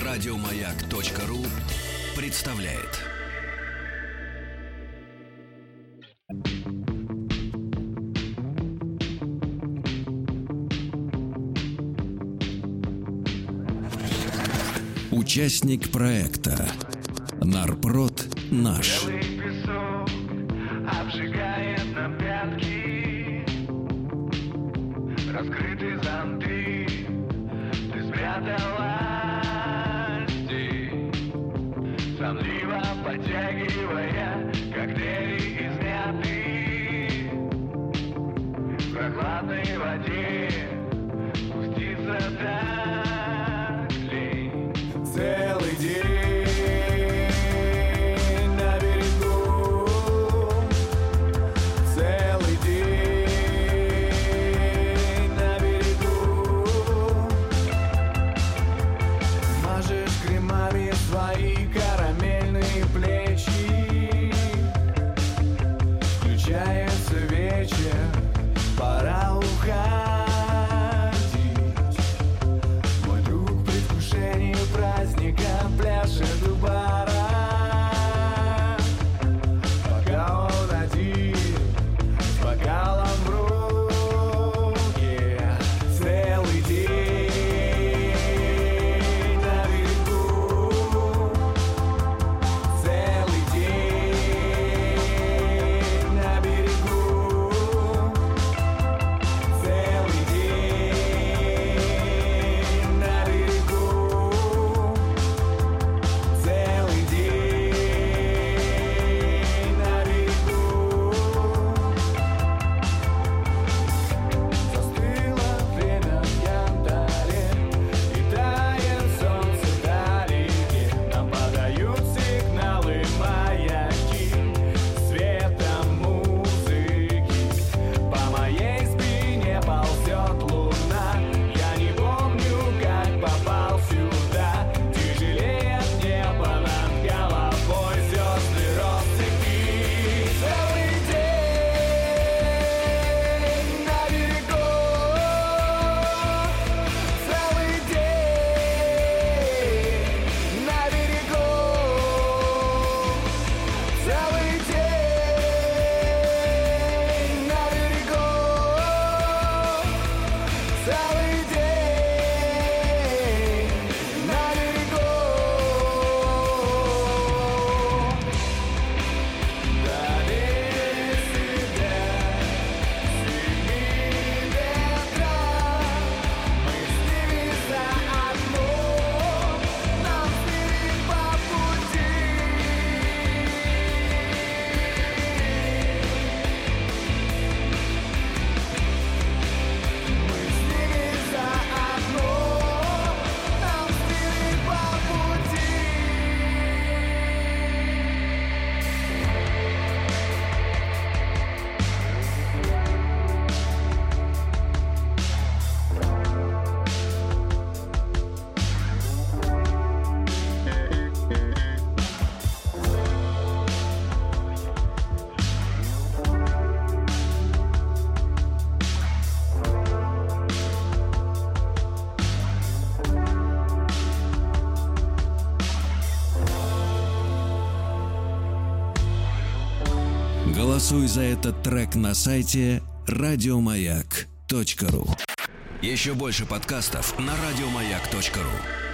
Радиомаяк.ру представляет. Участник проекта Нарпрод наш. Белый песок обжигает нам пятки, раскрыты зонты, ты спряталась здесь, сонливо подтягивая коктейли из мяты. В прохладной воде спуститься так лень. Целый день на берегу, целый день на берегу. Мажешь кремами свои карамельные плечи, включается вечер, пора уходить. Мой друг в предвкушении праздника пляшет у бара, пока он один с бокалом в руке. Целый день на берегу, целый день на берегу, целый день на берегу, целый день на берегу. Застыло время в янтаре, и тает солнце вдалеке. Нам подают сигналы маяки светом музыки. По моей спине ползет луна. Я не помню, как попал сюда. Тяжелеет небо над головой, звезды россыпи. Целый день на берегу, целый день на берегу, целый день на берегу, целый день на берегу. Дали себя сильны ветра, мы с ними заодно, нам с ними по пути. Мы с ними заодно, нам с ними по пути. Голосуй за этот трек на сайте Радиомаяк.ру. Еще больше подкастов на Радиомаяк.ру.